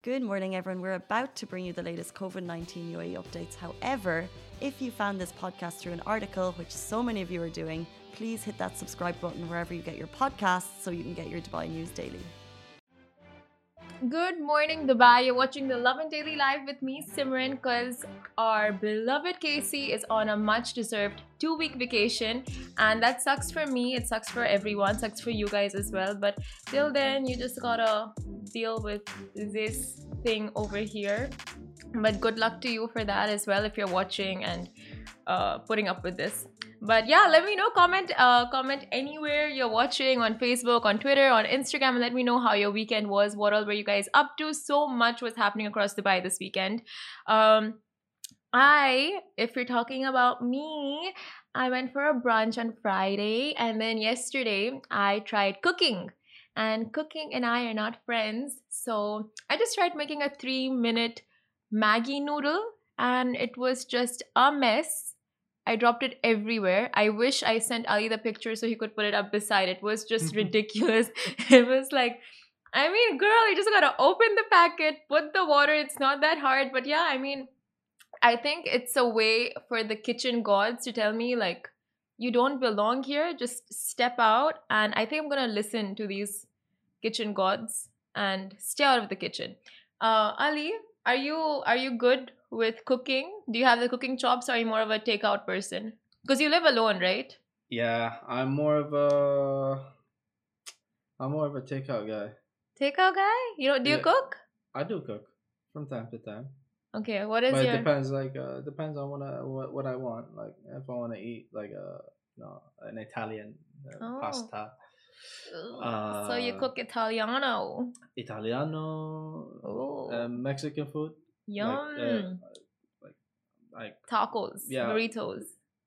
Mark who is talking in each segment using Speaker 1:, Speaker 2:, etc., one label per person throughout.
Speaker 1: Good morning, everyone. We're about to bring you the latest COVID-19 UAE updates. However, if you found this podcast through an article, which so many of you are doing, please hit that subscribe button wherever you get your podcasts so you can get your Dubai news daily.
Speaker 2: Good morning, Dubai. You're watching the Lovin Daily Live with me, Simran, because our beloved Casey is on a much deserved 2-week vacation. And that sucks for me. It sucks for everyone. Sucks for you guys as well. But till then, you just gotta deal with this thing over here. But good luck to you for that as well if you're watching and putting up with this. But yeah, let me know. Comment anywhere you're watching, on Facebook, on Twitter, on Instagram, and let me know how your weekend was. What all were you guys up to? So much was happening across Dubai this weekend. If you're talking about me, I went for a brunch on Friday, and then yesterday I tried cooking. And cooking and I are not friends, so I just tried making a 3-minute Maggi noodle, and it was just a mess. I dropped it everywhere. I wish I sent Ali the picture so he could put it up beside. It was just ridiculous. It was like, I mean, girl, you just gotta open the packet, put the water. It's not that hard. But yeah, I mean, I think it's a way for the kitchen gods to tell me, like, you don't belong here. Just step out. And I think I'm gonna listen to these kitchen gods and stay out of the kitchen. Ali, are you good with cooking? Do you have the cooking chops, or are you more of a takeout person? Because you live alone, right?
Speaker 3: Yeah, I'm more of a takeout guy.
Speaker 2: Takeout guy? You know, do you
Speaker 3: Yeah,
Speaker 2: cook?
Speaker 3: I do cook from time to time,
Speaker 2: Okay, what is
Speaker 3: but it
Speaker 2: your
Speaker 3: depends. Depends on what I want. Like if I want to eat an Italian
Speaker 2: oh?
Speaker 3: pasta,
Speaker 2: So you
Speaker 3: uh,
Speaker 2: cook Italiano?
Speaker 3: Italiano,
Speaker 2: Oh,
Speaker 3: Mexican food, like
Speaker 2: yum!
Speaker 3: like like
Speaker 2: Tacos,
Speaker 3: yeah,
Speaker 2: burritos,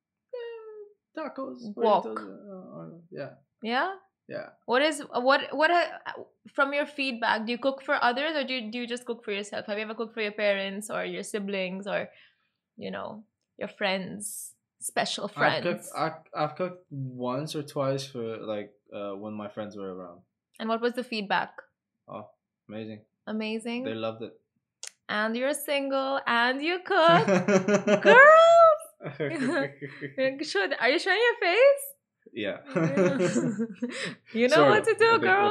Speaker 3: tacos, burritos.
Speaker 2: wok.
Speaker 3: Yeah,
Speaker 2: Yeah.
Speaker 3: yeah.
Speaker 2: What is from your feedback? Do you cook for others, or do you just cook for yourself? Have you ever cooked for your parents or your siblings or you know your friends, special friends?
Speaker 3: I've cooked once or twice for when my friends were around.
Speaker 2: And what was the feedback?
Speaker 3: Oh, amazing! They
Speaker 2: Amazing.
Speaker 3: loved it.
Speaker 2: And you're single and you cook, girls. Are you showing your face?
Speaker 3: Yeah.
Speaker 2: Yeah. You know
Speaker 3: Sort
Speaker 2: what
Speaker 3: of.
Speaker 2: to
Speaker 3: I
Speaker 2: do,
Speaker 3: think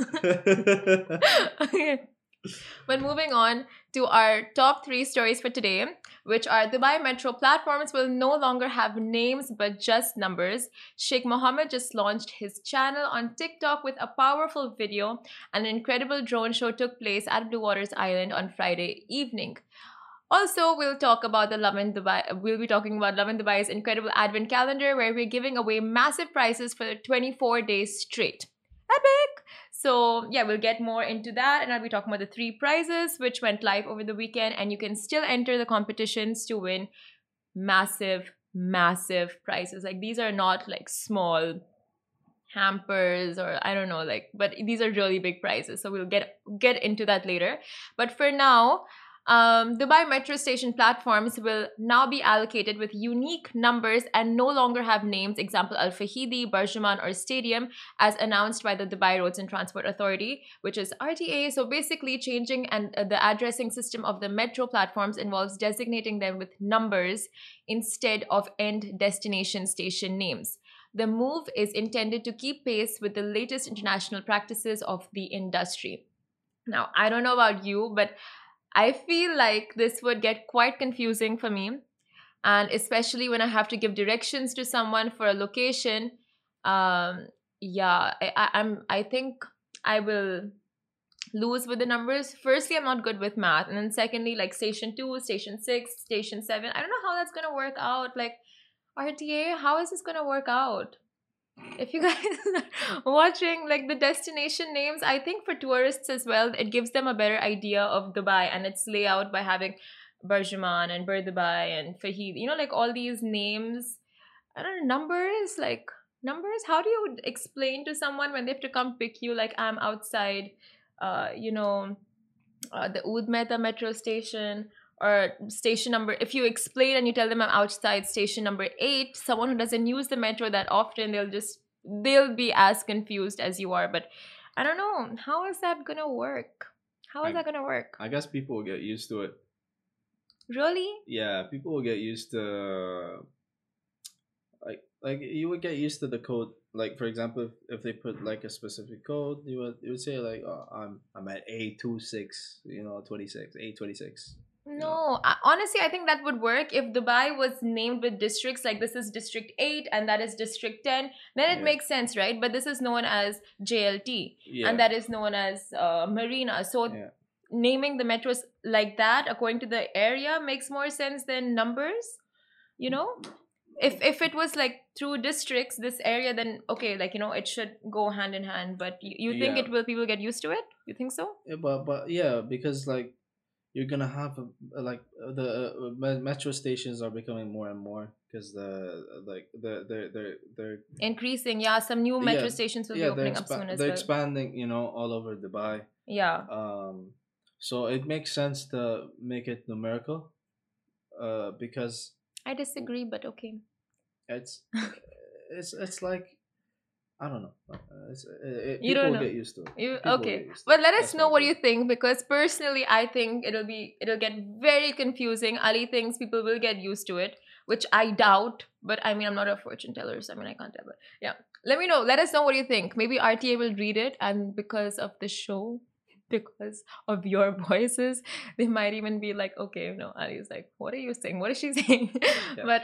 Speaker 3: with
Speaker 2: girl.
Speaker 3: that.
Speaker 2: Okay. But moving on to our top 3 stories for today, which are Dubai Metro platforms will no longer have names but just numbers. Sheikh Mohammed just launched his channel on TikTok with a powerful video, and an incredible drone show took place at Blue Waters Island on Friday evening. Also, we'll talk about the Lovin Dubai. We'll be talking about Lovin Dubai's incredible advent calendar, where we're giving away massive prizes for 24 days straight. Epic! So, yeah, we'll get more into that, and I'll be talking about the 3 prizes which went live over the weekend, and you can still enter the competitions to win massive, massive prizes. Like, these are not like small hampers or I don't know, like, but these are really big prizes. So we'll get into that later. But for now, Dubai metro station platforms will now be allocated with unique numbers and no longer have names, example Al Fahidi, Barjuman, or Stadium, as announced by the Dubai Roads and Transport Authority, which is RTA. So basically, changing and the addressing system of the metro platforms involves designating them with numbers instead of end destination station names. The move is intended to keep pace with the latest international practices of the industry. Now, I don't know about you, but I feel like this would get quite confusing for me, and especially when I have to give directions to someone for a location. Um, yeah, I think I will lose with the numbers. Firstly, I'm not good with math, and then secondly, like station 2, station 6, station 7, I don't know how that's gonna work out. Like, RTA, how is this gonna work out? If you guys are watching like the destination names, I think for tourists as well, it gives them a better idea of Dubai and its layout by having Barjuman and Bur Dubai and Fahid. You know, like all these names. I don't know, numbers, like numbers. How do you explain to someone when they have to come pick you? Like, I'm outside, uh, you know, the Oud Mehta metro station, or station number. If you explain and you tell them I'm outside station number 8, someone who doesn't use the metro that often, they'll be as confused as you are. But I don't know, how is that gonna work? How is
Speaker 3: I
Speaker 2: that gonna work?
Speaker 3: I guess people will get used to it.
Speaker 2: Really?
Speaker 3: Yeah, people will get used to like you would get used to the code. Like for example, if they put like a specific code, you would say like, oh, I'm at A26, 26, A26.
Speaker 2: No, honestly, I think that would work if Dubai was named with districts, like this is District 8 and that is District 10, then it
Speaker 3: Yeah.
Speaker 2: makes sense, right? But this is known as JLT
Speaker 3: Yeah.
Speaker 2: and that is known as Marina. So
Speaker 3: Yeah.
Speaker 2: naming the metros like that according to the area makes more sense than numbers, you know? If it was like through districts, this area, then okay, like it should go hand in hand. But you think
Speaker 3: Yeah.
Speaker 2: people get used to it? You think so?
Speaker 3: Yeah, but yeah, because like you're gonna have like the metro stations are becoming more and more because they're
Speaker 2: Increasing, yeah. Some new metro
Speaker 3: yeah
Speaker 2: stations will be
Speaker 3: yeah
Speaker 2: opening up soon as
Speaker 3: they're
Speaker 2: well.
Speaker 3: expanding all over Dubai.
Speaker 2: Yeah.
Speaker 3: So it makes sense to make it numerical, because
Speaker 2: I disagree, but okay.
Speaker 3: it's it's like I don't know.
Speaker 2: You
Speaker 3: People
Speaker 2: don't
Speaker 3: will
Speaker 2: know.
Speaker 3: get used to it.
Speaker 2: You
Speaker 3: People will
Speaker 2: okay?
Speaker 3: get used to
Speaker 2: But
Speaker 3: it.
Speaker 2: let us
Speaker 3: That's
Speaker 2: know
Speaker 3: my
Speaker 2: what you
Speaker 3: opinion.
Speaker 2: think because personally, I think it'll get very confusing. Ali thinks people will get used to it, which I doubt. But I mean, I'm not a fortune teller, so I mean, I can't tell. But yeah, let me know. Let us know what you think. Maybe RTA will read it, and because of the show, because of your voices, they might even be like, okay, no, Ali's like, what are you saying? What is she saying?
Speaker 3: Yeah.
Speaker 2: But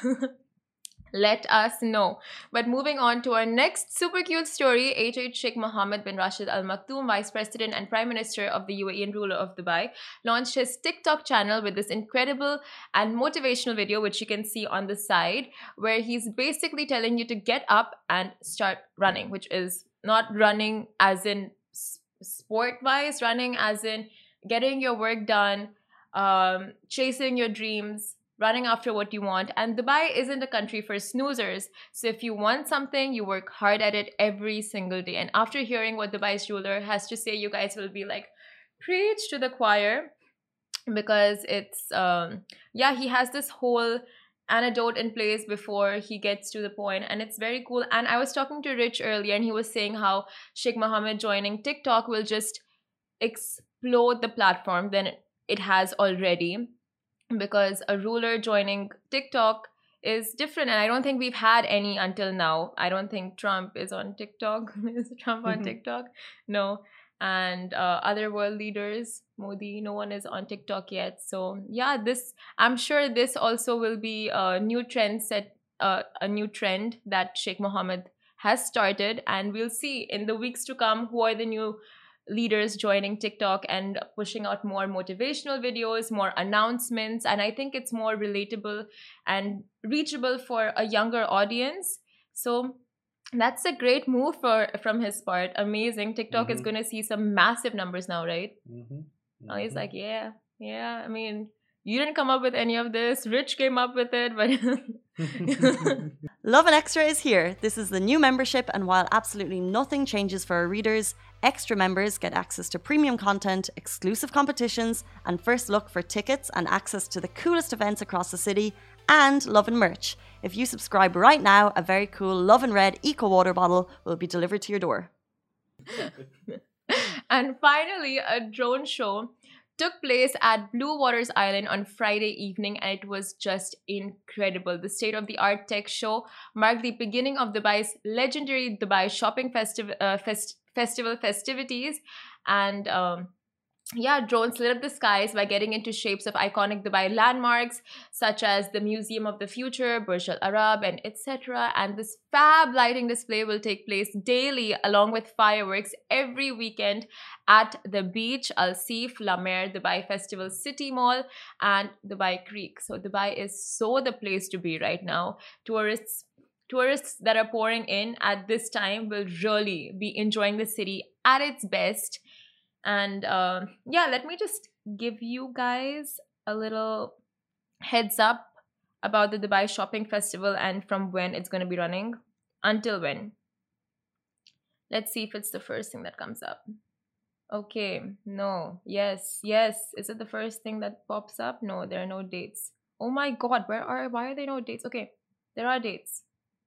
Speaker 2: let us know. But moving on to our next super cute story, H. Sheikh Mohammed bin Rashid Al Maktoum, Vice President and Prime Minister of the UAE and ruler of Dubai, launched his TikTok channel with this incredible and motivational video, which you can see on the side, where he's basically telling you to get up and start running, which is not running as in sport wise, running as in getting your work done, chasing your dreams, running after what you want. And Dubai isn't a country for snoozers. So if you want something, you work hard at it every single day. And after hearing what Dubai's ruler has to say, you guys will be like, preach to the choir, because it's yeah, he has this whole anecdote in place before he gets to the point, and it's very cool. And I was talking to Rich earlier, and he was saying how Sheikh Mohammed joining TikTok will just explode the platform than it has already, because a ruler joining TikTok is different. And I don't think we've had any until now. I don't think Trump is on TikTok. Is Trump on TikTok? No. And other world leaders, Modi, no one is on TikTok yet. So yeah, I'm sure this also will be a new trend a new trend that Sheikh Mohammed has started. And we'll see in the weeks to come who are the new leaders joining TikTok and pushing out more motivational videos, more announcements. And I think it's more relatable and reachable for a younger audience. So that's a great move from his part. Amazing. TikTok is going to see some massive numbers now, right? Oh, he's like, yeah. I mean, you didn't come up with any of this. Rich came up with it, but
Speaker 1: Lovin Extra is here. This is the new membership, and while absolutely nothing changes for our readers, extra members get access to premium content, exclusive competitions, and first look for tickets and access to the coolest events across the city, and Lovin merch. If you subscribe right now, a very cool Lovin Red Eco Water bottle will be delivered to your door.
Speaker 2: And finally, a drone show took place at Blue Waters Island on Friday evening, and it was just incredible. The state-of-the-art tech show marked the beginning of Dubai's legendary Dubai Shopping Festival festivities. And yeah, drones lit up the skies by getting into shapes of iconic Dubai landmarks such as the Museum of the Future, Burj Al Arab, and etc. And this fab lighting display will take place daily along with fireworks every weekend at the beach, Al Seef, La Mer, Dubai Festival City Mall, and Dubai Creek. So Dubai is so the place to be right now. Tourists that are pouring in at this time will really be enjoying the city at its best. And yeah, let me just give you guys a little heads up about the Dubai Shopping Festival and from when it's going to be running until when. Let's see if it's the first thing that comes up. Okay, no, yes. Is it the first thing that pops up? No, there are no dates. Oh my god, why are there no dates? Okay, there are dates.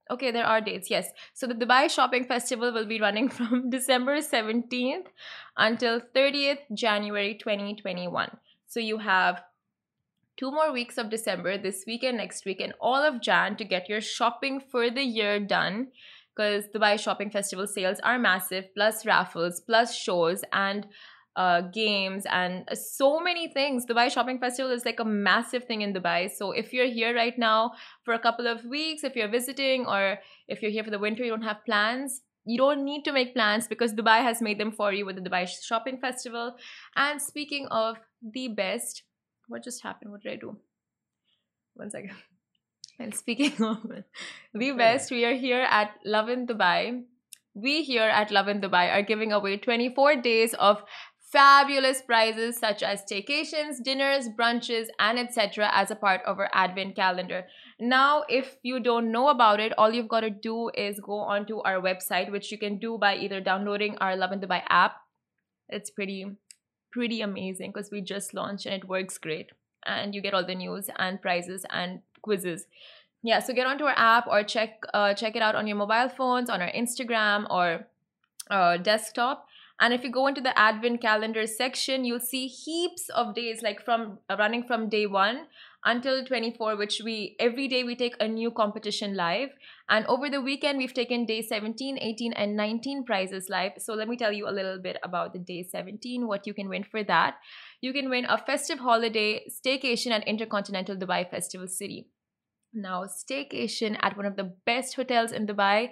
Speaker 2: Okay, there are dates, yes. So the Dubai Shopping Festival will be running from December 17th until 30th January 2021. So you have 2 more weeks of December, this weekend, next week, and all of Jan to get your shopping for the year done. Because Dubai Shopping Festival sales are massive, plus raffles, plus shows, and games, and so many things. Dubai Shopping Festival is like a massive thing in Dubai. So if you're here right now for a couple of weeks, if you're visiting, or if you're here for the winter, you don't have plans. You don't need to make plans because Dubai has made them for you with the Dubai Shopping Festival. And speaking of the best, what just happened? What did I do? One second. And speaking of the best, we are here at Love in Dubai. We here at Love in Dubai are giving away 24 days of fabulous prizes such as staycations, dinners, brunches, and etc. as a part of our advent calendar. Now, if you don't know about it, all you've got to do is go onto our website, which you can do by either downloading our Love in Dubai app. It's pretty amazing because we just launched and it works great, and you get all the news and prizes and quizzes. Yeah, so get onto our app or check it out on your mobile phones, on our Instagram or desktop. And if you go into the advent calendar section, you'll see heaps of days, like from running from day 1 until 24, which we every day we take a new competition live. And over the weekend, we've taken day 17, 18, and 19 prizes live. So let me tell you a little bit about the day 17, what you can win for that. You can win a festive holiday staycation at Intercontinental Dubai Festival City. Now, staycation at one of the best hotels in Dubai,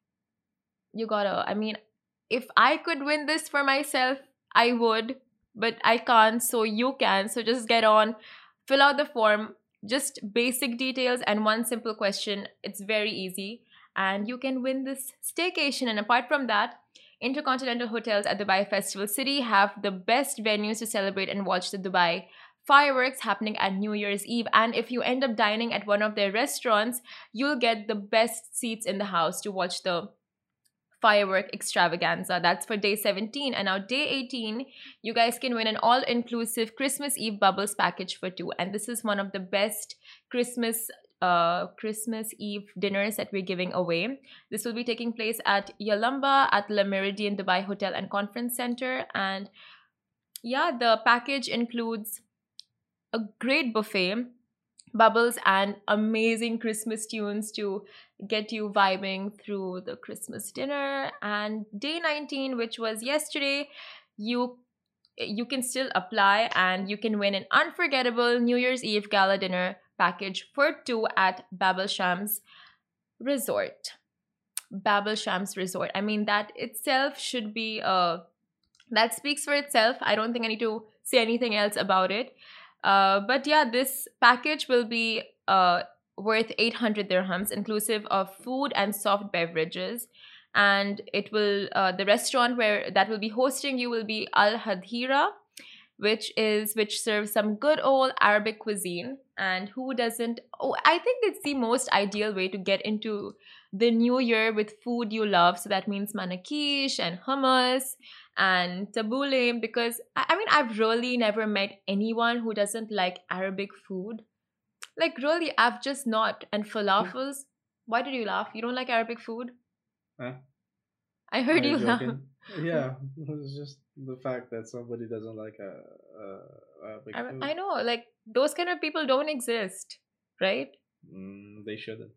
Speaker 2: I mean, if I could win this for myself, I would, but I can't, so you can. So just get on, fill out the form, just basic details and one simple question. It's very easy, and you can win this staycation. And apart from that, Intercontinental Hotels at Dubai Festival City have the best venues to celebrate and watch the Dubai fireworks happening at New Year's Eve. And if you end up dining at one of their restaurants, you'll get the best seats in the house to watch the firework extravaganza. That's for day 17. And now day 18, you guys can win an all-inclusive Christmas Eve bubbles package for 2. And this is one of the best Christmas Eve dinners that we're giving away. This will be taking place at Yalamba at Le Méridien Dubai Hotel and Conference Center. And yeah, the package includes a great buffet, bubbles, and amazing Christmas tunes to get you vibing through the Christmas dinner. And day 19, which was yesterday, you can still apply and you can win an unforgettable New Year's Eve gala dinner package for 2 at Babel Shams Resort. Babel Shams Resort. I mean, that itself should be that speaks for itself. I don't think I need to say anything else about it. But yeah, this package will be worth 800 dirhams, inclusive of food and soft beverages. And it will the restaurant where that will be hosting you will be Al Hadhira, which serves some good old Arabic cuisine. And who doesn't? Oh, I think it's the most ideal way to get into the new year with food you love. So that means manakish and hummus and tabbouleh, because I mean, I've really never met anyone who doesn't like Arabic food. Like, really, I've just not. And falafels. Why did you laugh? You don't like Arabic food?
Speaker 3: Huh?
Speaker 2: I heard
Speaker 3: Are
Speaker 2: you
Speaker 3: you
Speaker 2: laugh.
Speaker 3: joking? Yeah, it's just the fact that somebody doesn't like Arabic food.
Speaker 2: I know, like, those kind of people don't exist, right?
Speaker 3: They shouldn't.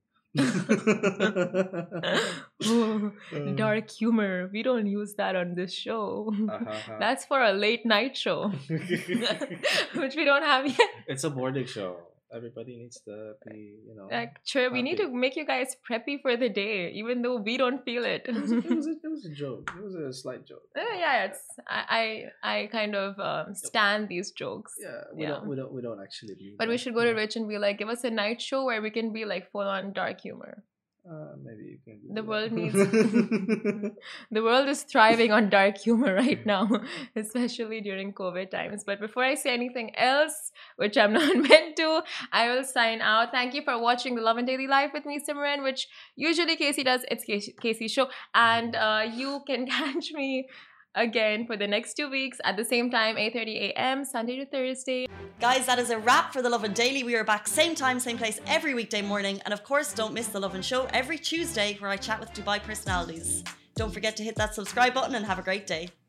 Speaker 2: Ooh, dark humor. We don't use that on this show. That's for a late night show, which we don't have yet.
Speaker 3: It's a morning show. Everybody needs to be,
Speaker 2: Like, sure, we need to make you guys preppy for the day, even though we don't feel it.
Speaker 3: It was a joke. It was a slight joke.
Speaker 2: Yeah, I kind of stand these jokes.
Speaker 3: Yeah, we don't actually mean.
Speaker 2: But
Speaker 3: that.
Speaker 2: we should go to Rich and be like, give us a night show where we can be like full on dark humor.
Speaker 3: Maybe you can.
Speaker 2: The world needs. The world is thriving on dark humor right now, especially during COVID times. But before I say anything else, which I'm not meant to, I will sign out. Thank you for watching the Love and Daily Life with me, Simran, which usually Casey does. It's Casey's show, and you can catch me again for the next 2 weeks at the same time, 8:30 a.m. Sunday to Thursday.
Speaker 1: Guys, that is a wrap for The Lovin Daily. We are back same time, same place every weekday morning. And of course, don't miss The Lovin Show every Tuesday where I chat with Dubai personalities. Don't forget to hit that subscribe button and have a great day.